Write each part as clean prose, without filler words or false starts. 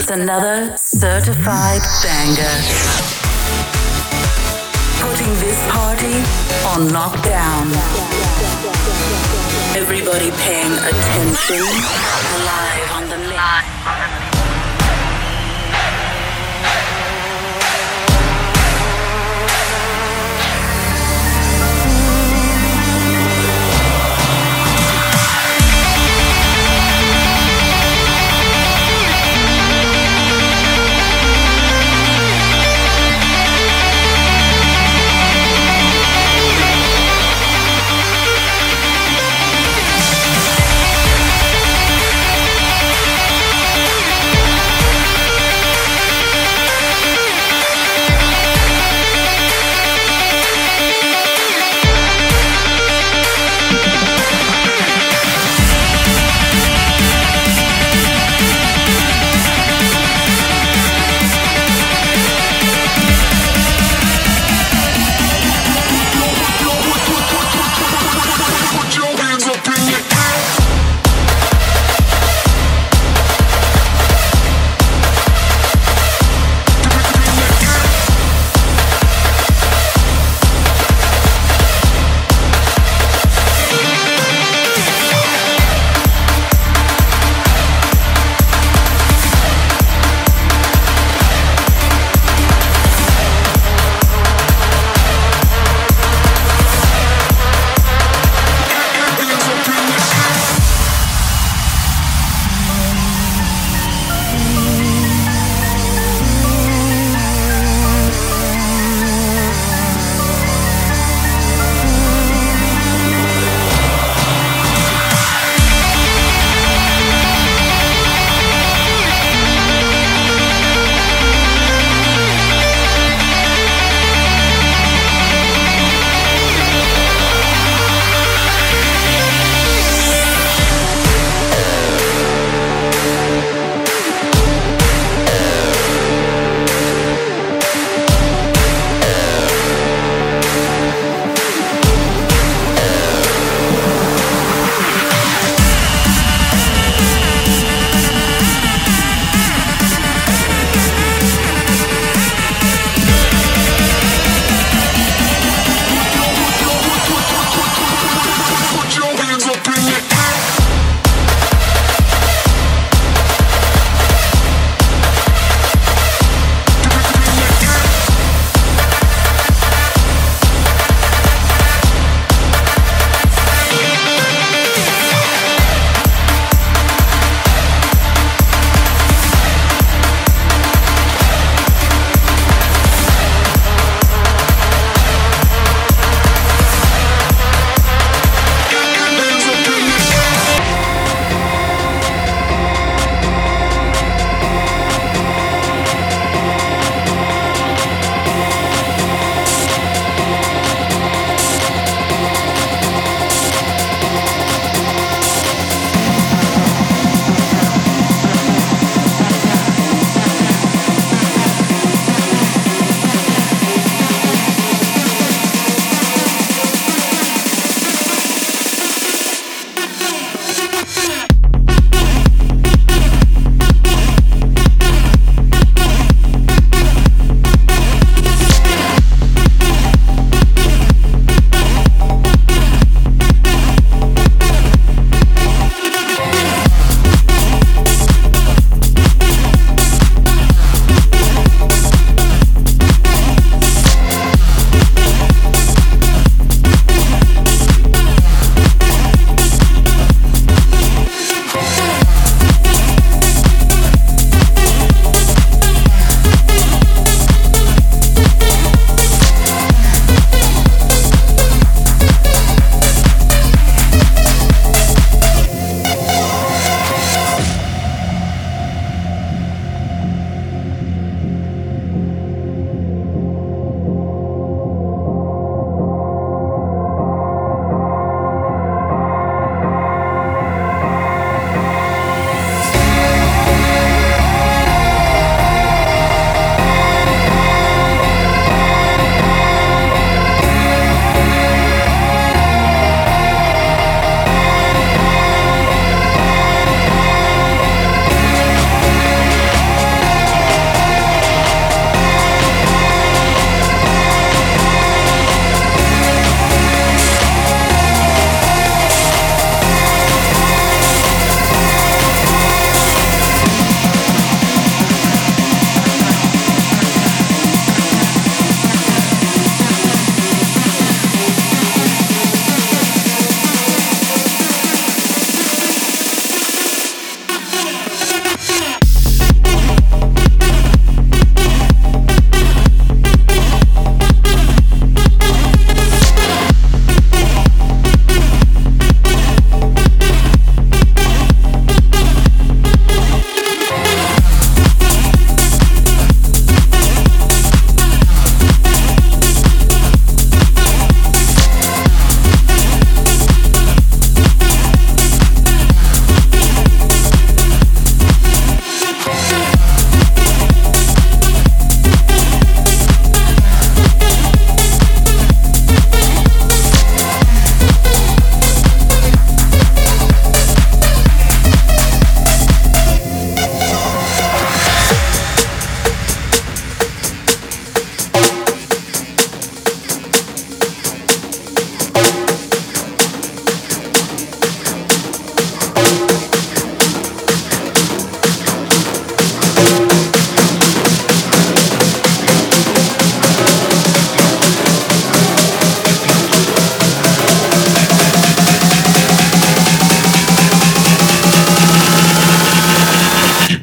with another certified banger. Putting this party on lockdown. Everybody paying attention. Live on the mix.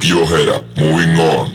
your head up, moving on.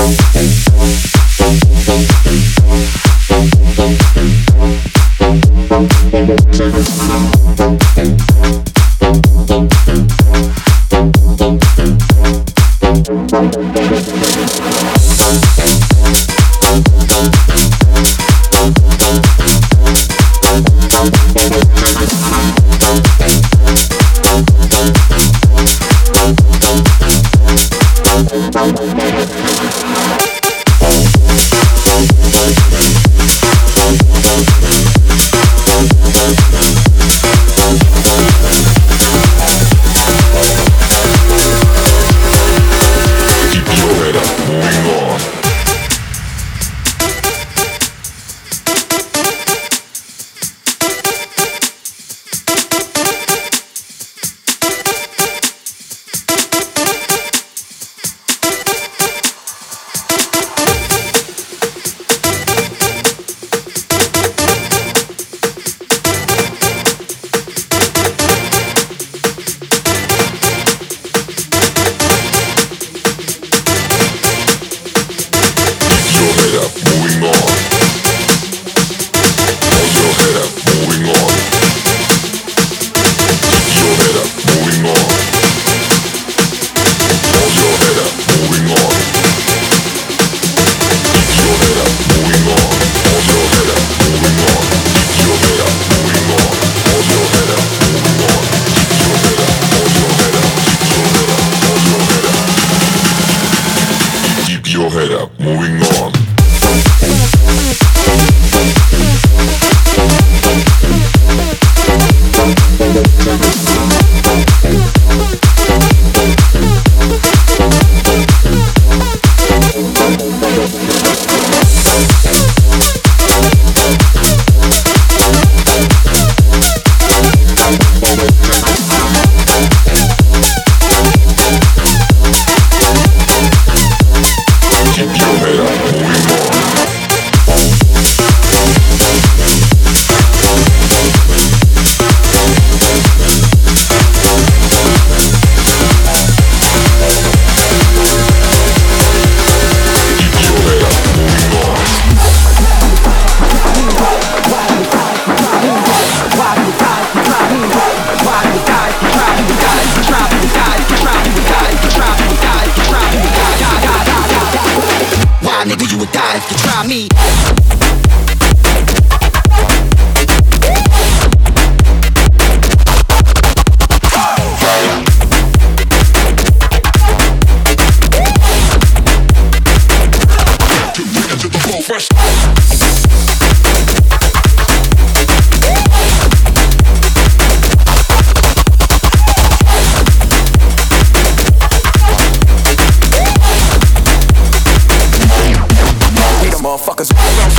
Your head up, moving on. Nigga, you would die if you try me. Motherfuckers.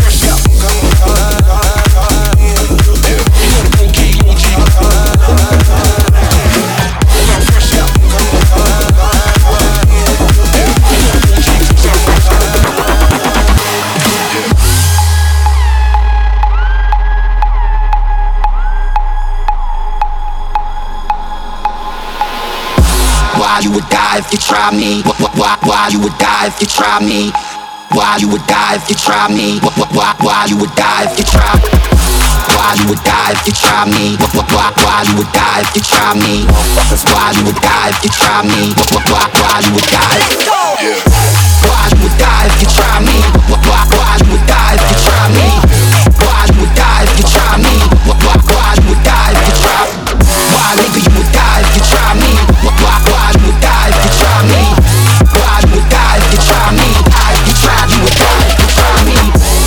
Why you would die if you try me? Why you would die if you try me? Why you would die if you try me? Why you would die if you try? Why you would die if you try me? Why you would die if you try me? Why you would die if you try me? Why you would die? Why you would die if you try me? Why you would die if you try me? Why you would die if you try me? Why you would die if you try? Why nigga you would die if you try me? Why you would die if you try me? Why you would die if you try me? If you try, you would die if you try me.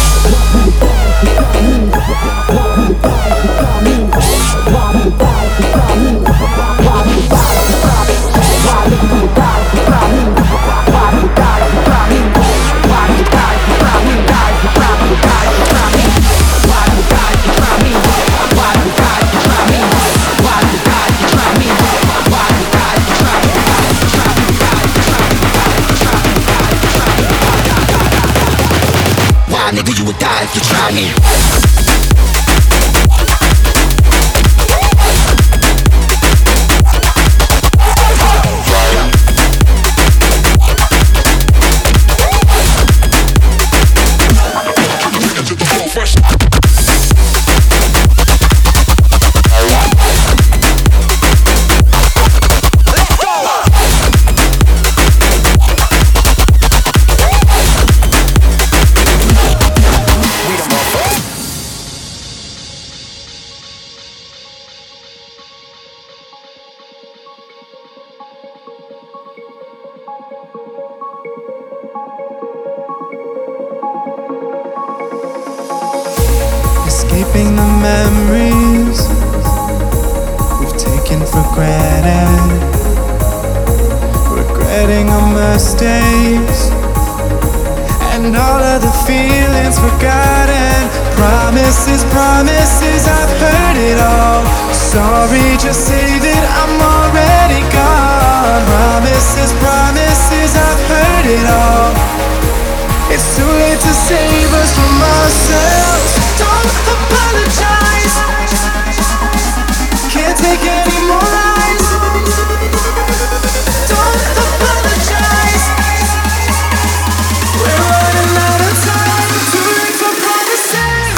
Nigga, you would die if you try me. escaping the memories we've taken for granted, regretting our mistakes and all of the feelings forgotten. Promises, promises, I've heard it all. Sorry, just say that I'm already gone. Promises, promises, I've heard it all. It's too late to save us from ourselves. Don't apologize. Can't take any more lies. Don't apologize. We're running out of time. Too late for promises.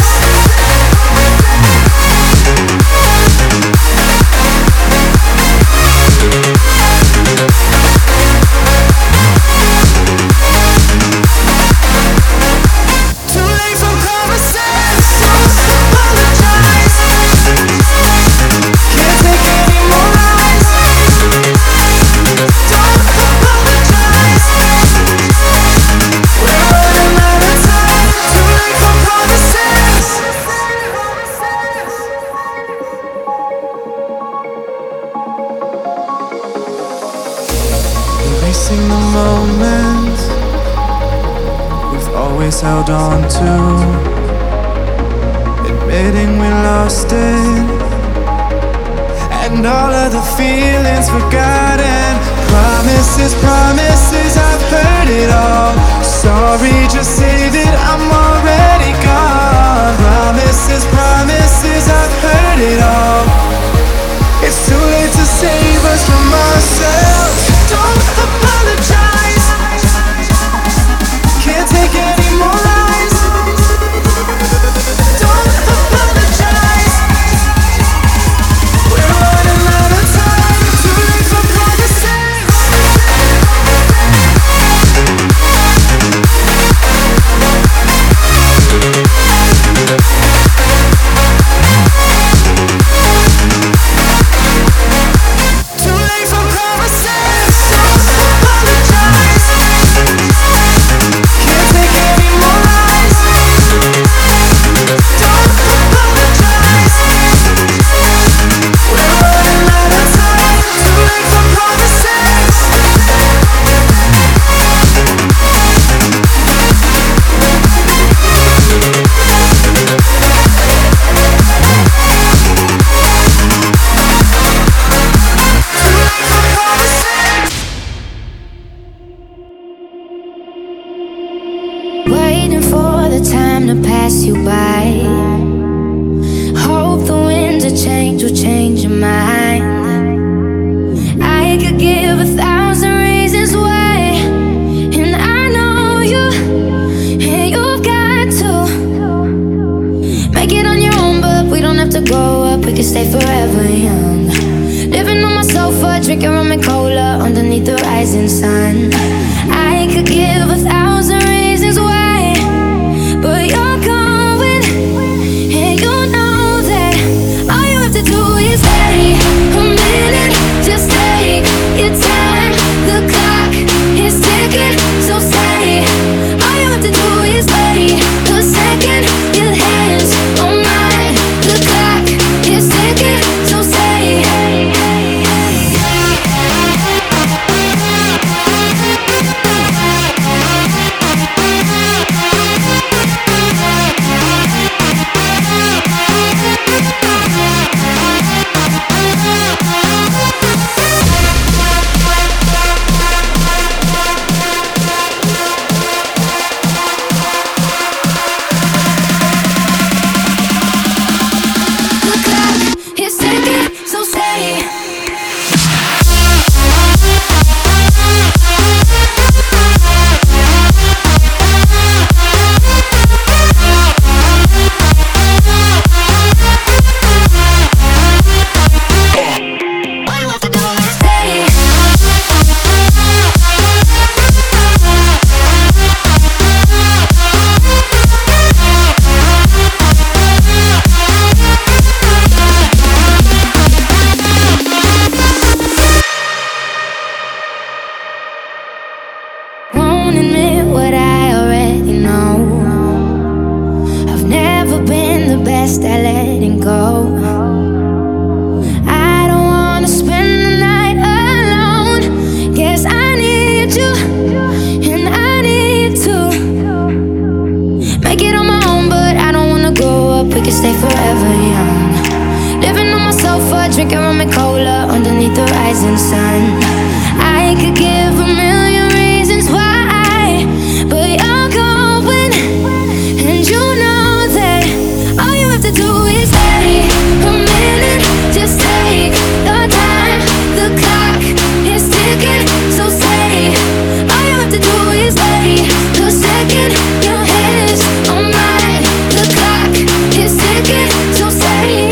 Too late for promises. Don't apologize. Can't take any more lies. Don't apologize. We're running out of time. Too late for promises. Erasing the moment we've always held on to, admitting we lost it, and all of the feelings forgotten. Promises, promises, I've heard it all. Sorry, just say that I'm already gone. Promises, promises, I've heard it all. It's too late to save us from ourselves. Don't apologize. Can't take any more lies. Don't apologize. We're running out of time. Too late for promises. Too late for promises. Don't apologize. Can't take any more lies. Don't apologize. We're running out of time. Too late for promises. Waiting for the time to pass you by. Hope the winds of change will change your mind. I could give 1,000 reasons why, and I know you, and you've got to make it on your own, but we don't have to grow up, we can stay forever young. Living on my sofa, drinking rum and cola underneath the rising sun. I could give 1,000 reasons why, but you're going, and you know that all you have to do is stay a minute. Just take your time. The clock is ticking, so stay. All you have to do is wait a second. Your hands on mine. The clock is ticking, so stay. The clock is ticking, so stay. Won't admit what I already know. I've never been the best best at letting go. I don't wanna spend the night alone. Guess I need you, and I need to make it on my own, but I don't wanna grow up. We can stay forever young. Living on my sofa, drinking rum and cola underneath the rising sun. I could give a million reasons why, but you're going, and you know that all you have to do is take a minute. Just take your time. The clock is ticking, so say all you have to do is wait a second. Your head is on mine. The clock is ticking, so say.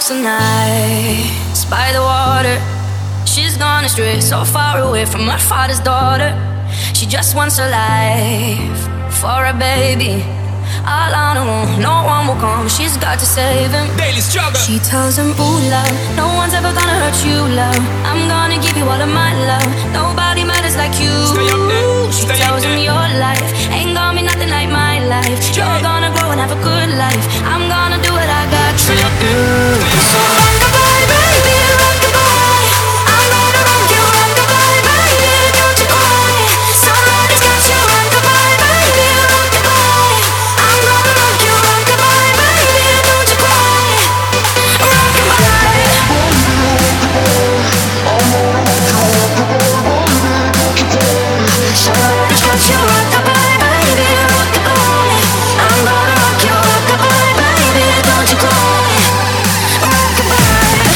walks the night by the water. She's gone astray, so far away from her father's daughter. She just wants a life for a baby. All on her own, no one will come. She's got to save him. Daily struggle. She tells him, ooh, love, no one's ever gonna hurt you, love. I'm gonna give you all of my love. Nobody matters like you. Stay up there. She Stay tells up him there. your life ain't gonna be nothing like my life. You're gonna grow and have a good life. I'm gonna do what I got to do. So rock-a-bye, baby, rock-a-bye. I'm gonna rock you, rock-a-bye, baby, don't you cry. Somebody's got you, rock-a-bye, baby, rock-a-bye. I'm gonna rock you, rock-a-bye, baby, don't you cry. Rock-a-bye. Somebody's got you, rock-a-bye, baby, rock-a-bye. I'm gonna rock you, rock-a-bye, baby, don't you cry. Rock-a-bye.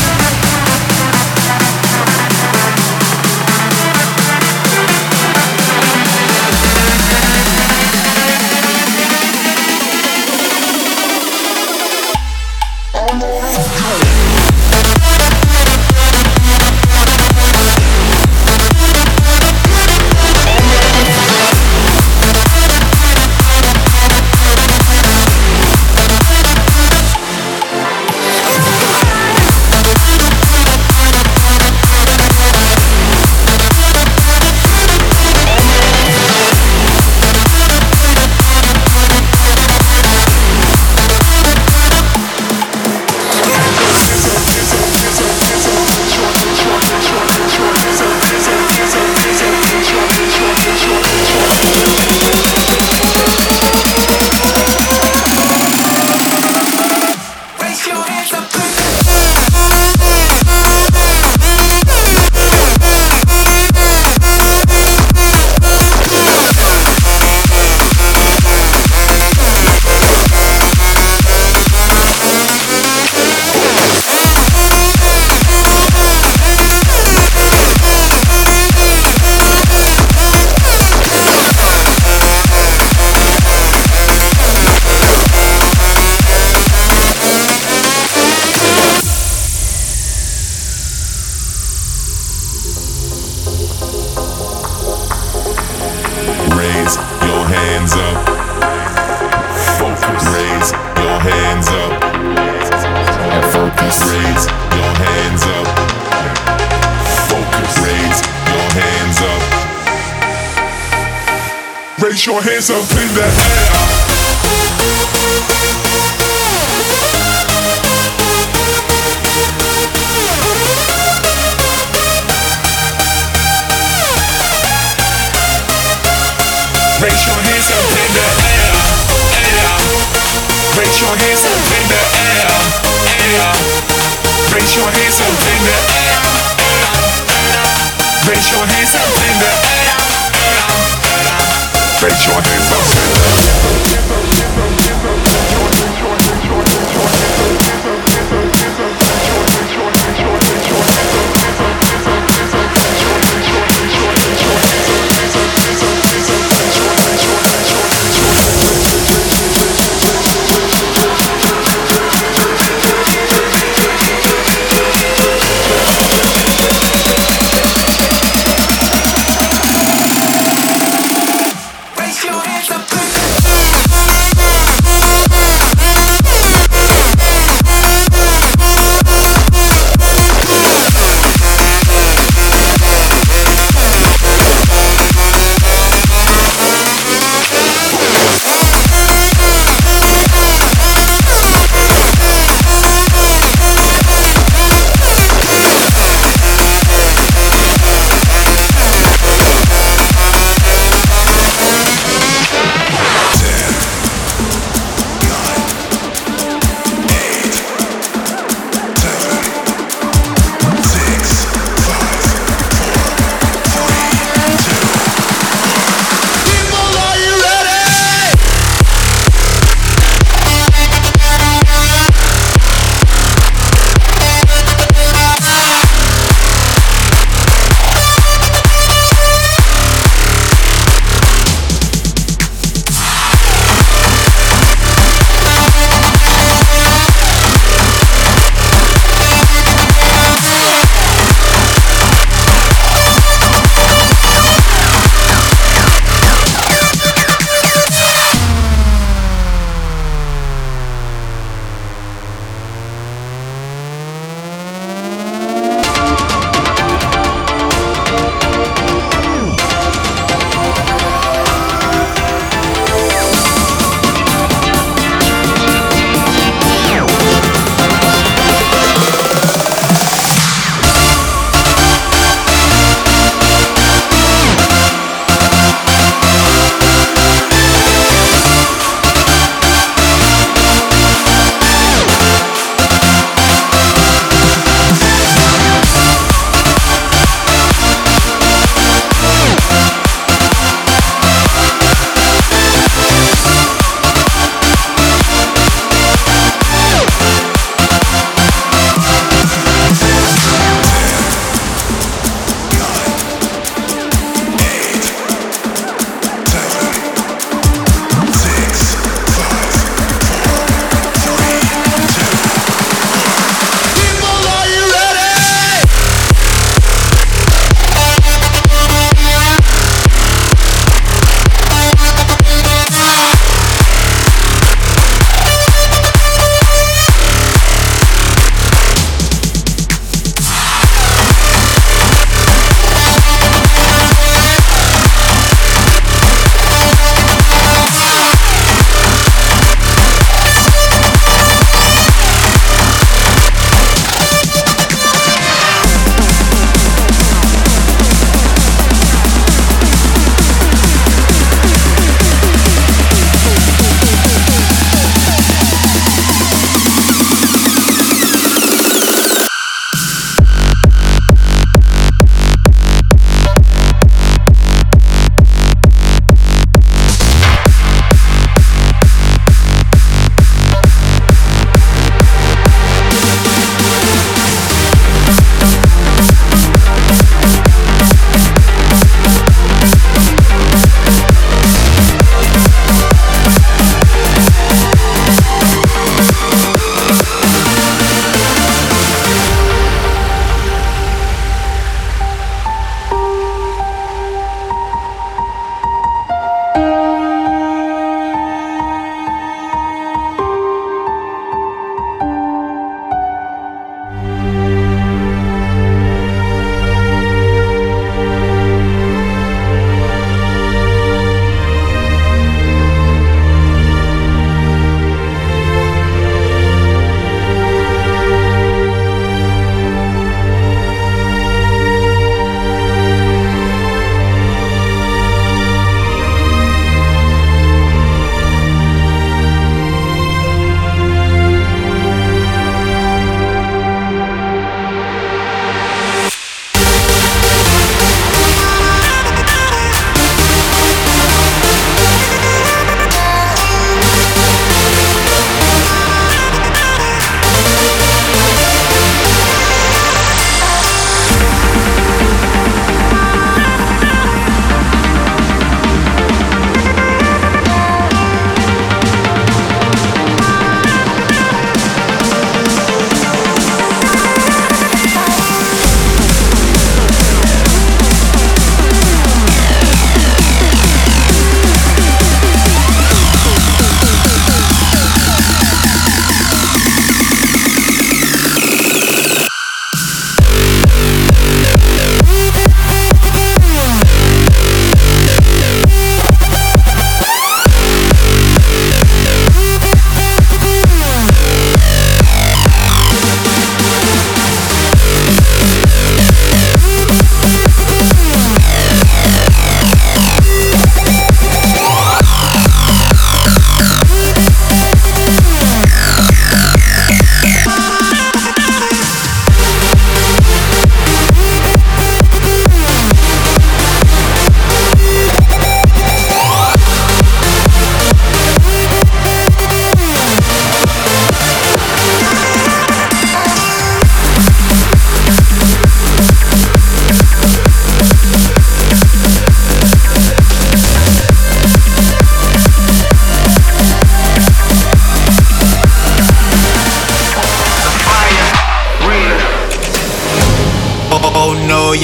Raise your hands up. Focus. Raise your hands up. Focus. Raise your hands up. Focus. Raise your hands up. Raise your hands up in the air. Raise your hands up in the air, air. Raise your hands up in the air, air. Raise your hands up in the air, air. Raise your hands up in the air, air. Raise your hands up in the Raise your hands up.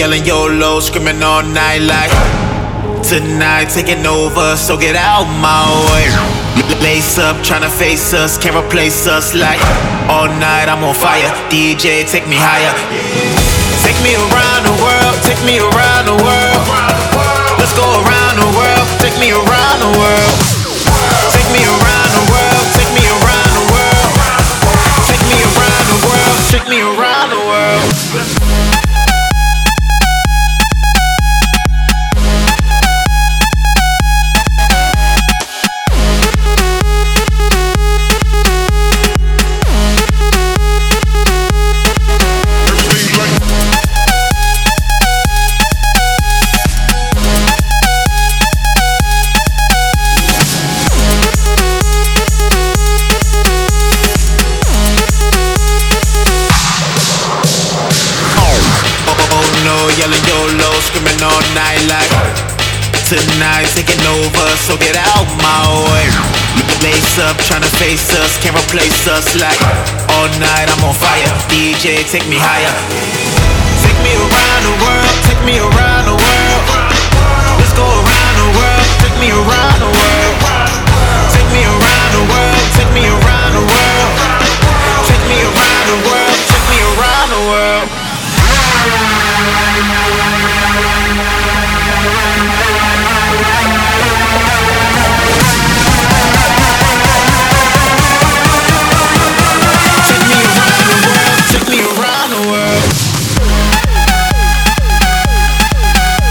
yelling YOLO, screaming all night like tonight taking over, so get out my way. Lace up, tryna face us, can't replace us like all night I'm on fire. DJ, take me higher. Take me around the world, take me around the world. Let's go around the world, take me around the world. Take me around the world, take me around the world. Take me around the world, take me around the world. Yelling YOLO, screaming all night like tonight taking over, so get out my way. Lace up, tryna face us, can't replace us like all night I'm on fire. DJ, take me higher. Take me around the world, take me around the world. Let's go around the world, take me around the world. Take me around the world, take me around the world. Take me around the world, take me around the world. Take me around the world.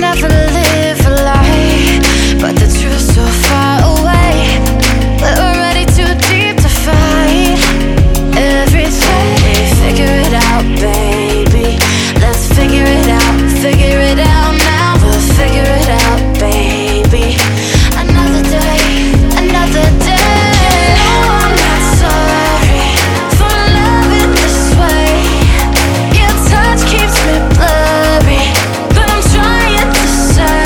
never live a lie, but the truth's so far away. We're already too deep to fight. Every day, figure it out, baby. Let's figure it out now. We'll figure it out, baby. Another day, another day. You know I'm not sorry for loving this way. Your touch keeps me blurry, but I'm trying to say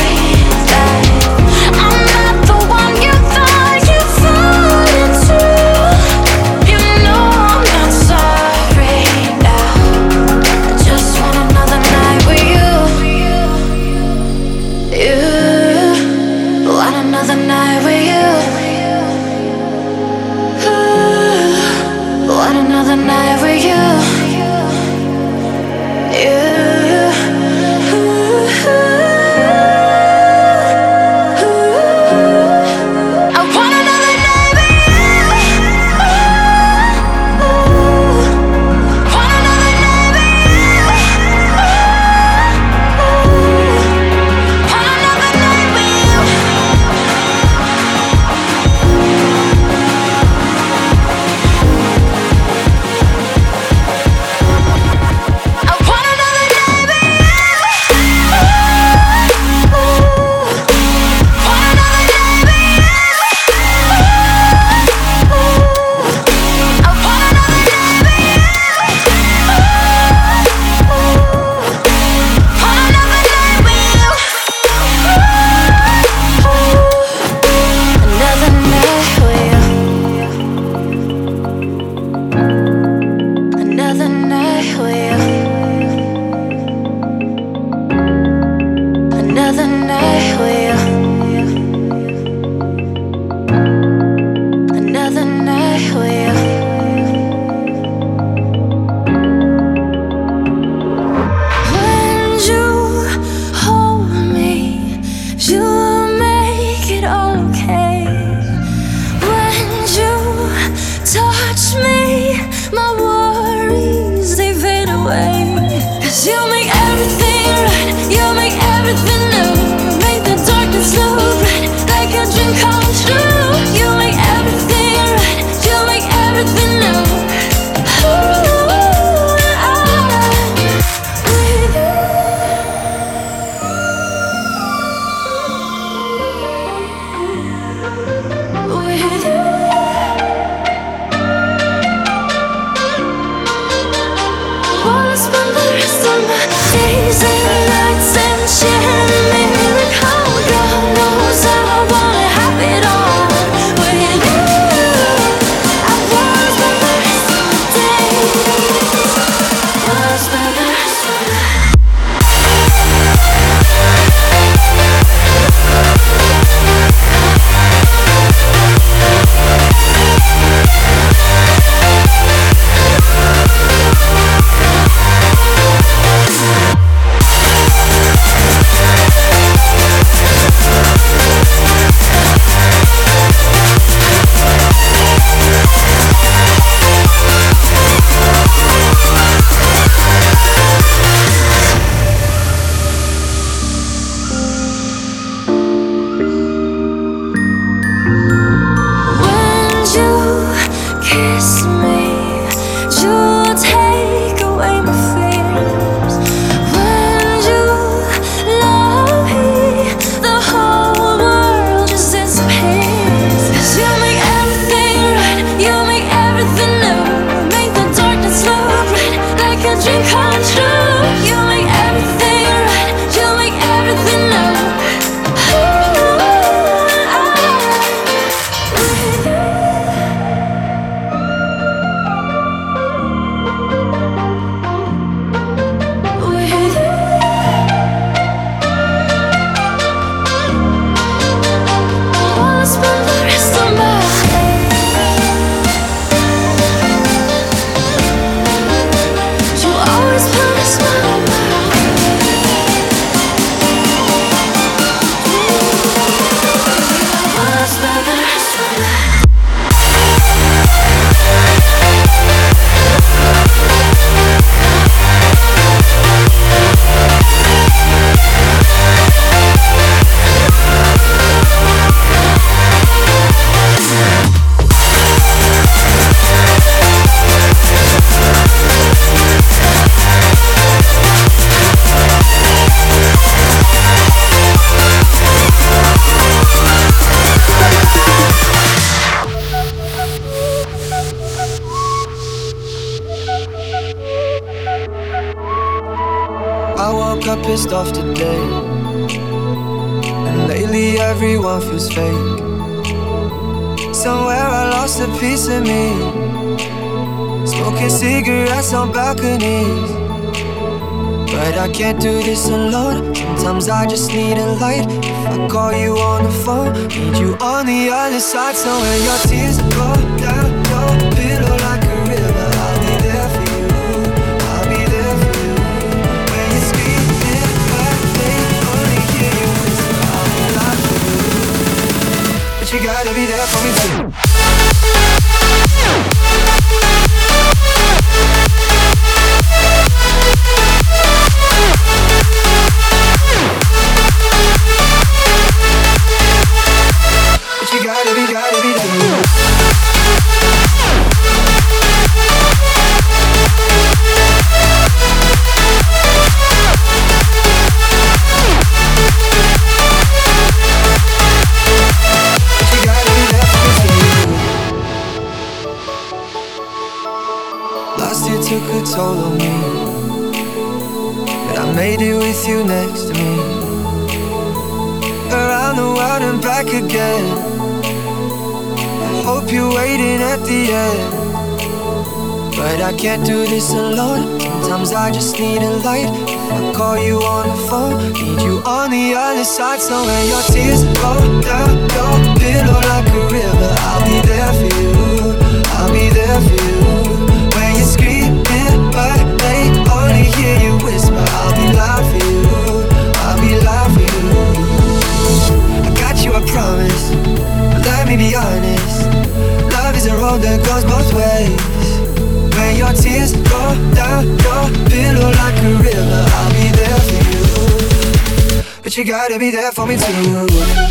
I woke up pissed off today, and lately everyone feels fake. Somewhere I lost a piece of me, smoking cigarettes on balconies. But I can't do this alone. Sometimes I just need a light. If I call you on the phone, need you on the other side. So when your tears go down your pillow like a river, I'll be there for you. I'll be there for you. When you're screaming, but they only hear you whisper, I'll be loud for you. But you gotta be there for me too. Gotta be there. Last year took a toll on me, but I made it with you next to me. Around the world and back again. Hope you're waiting at the end, but I can't do this alone. Sometimes I just need a light. If I call you on the phone, need you on the other side. So when your tears go down your pillow like a river, I'll be there for you. I'll be there for you. When you're screaming, but they only hear you whisper, I'll be loud for you. I'll be loud for you. I got you, I promise. But let me be honest. Love is a road that goes both ways. When your tears go down your pillow like a river, I'll be there for you. But you gotta be there for me too.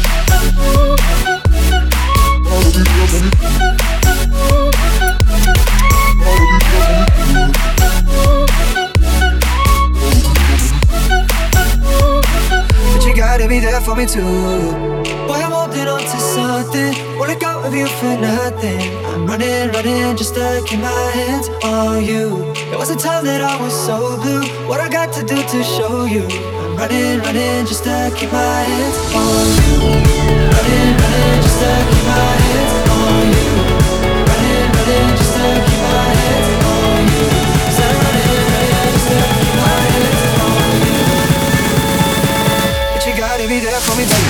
But you gotta be there for me too. Boy, I'm holding on to something. Won't let go of you for nothing. I'm running just to keep my hands on you. There was a time that I was so blue. What I got to do to show you? I'm running just to keep my hands on you. Running just to keep my hands on you. Running just to keep my hands on you. Said I'm running just to keep my hands on you. But you gotta be there for me too.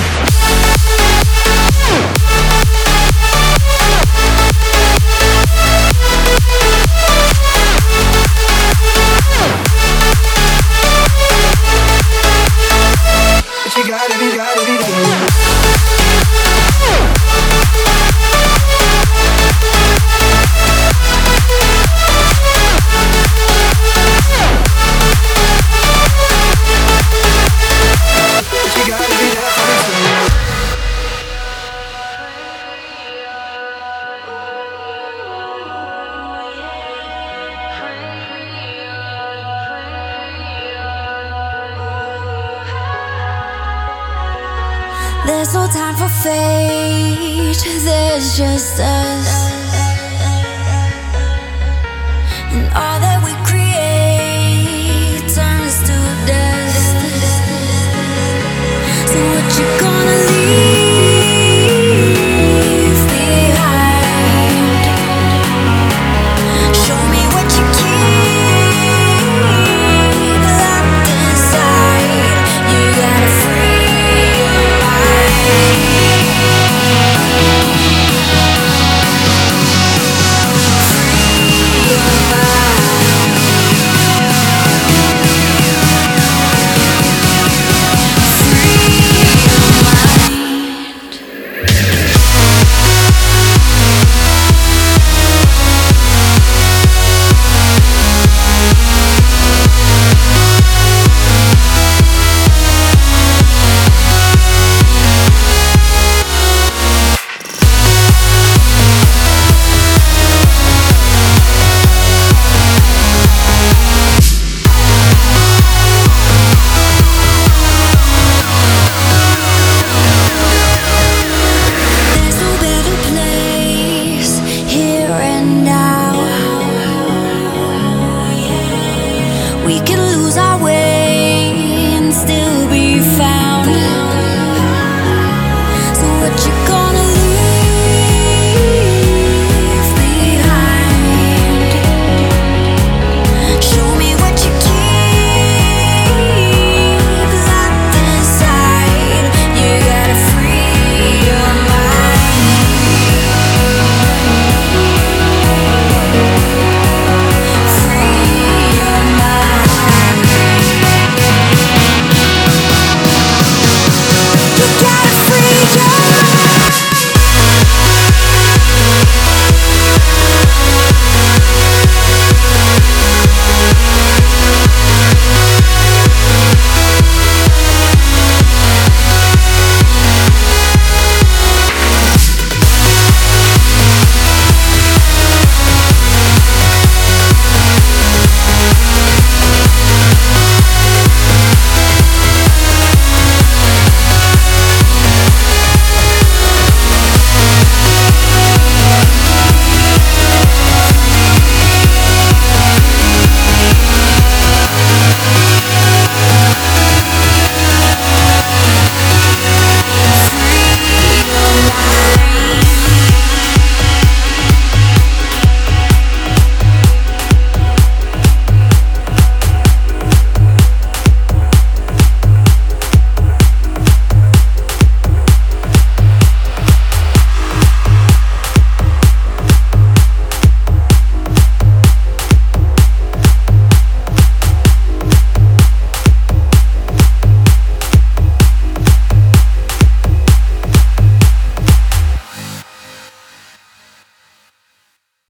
But you gotta be there. There's no time for fate, there's just us.